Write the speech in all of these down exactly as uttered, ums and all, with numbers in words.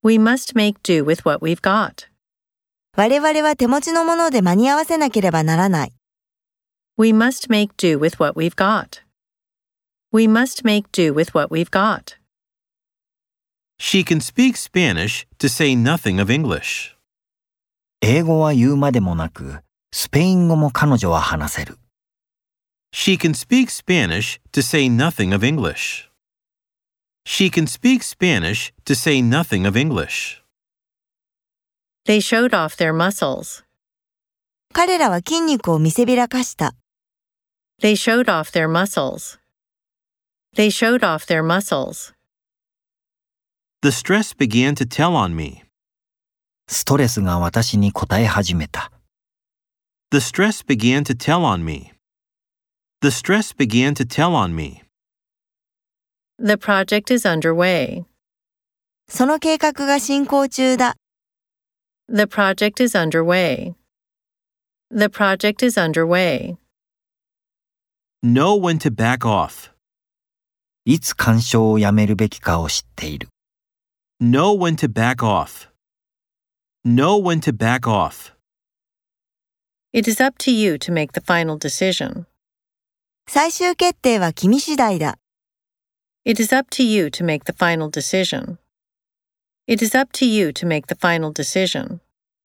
We must make do with what we've got. 我々は手持ちのもので間に合わせなければならない。 We must make do with what we've got. We must make do with what we've got. She can speak Spanish to say nothing of English. 英語は言うまでもなく、スペイン語も彼女は話せる。 She can speak Spanish to say nothing of English. She can speak Spanish to say nothing of English. They showed off their muscles. 彼らは筋肉を見せびらかした。 They showed off their muscles. They showed off their muscles. The stress began to tell on me. ストレスが私に応え始めた。 The stress began to tell on me. The stress began to tell on me. The project is underway. その計画が進行中だ。 The project is underway. The project is underway. Know when to back off. いつ干渉をやめるべきかを知っている。 Know when to back off. Know when to back off. It is up to you to make the final decision. 最終決定は君次第だ。 It is up to you to make the final decision. It is up to you to make the final decision.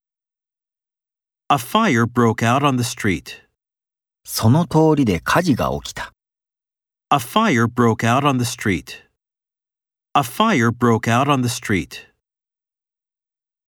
A fire broke out on the street. その通りで火事が起きた。 A fire broke out on the street. A fire broke out on the street.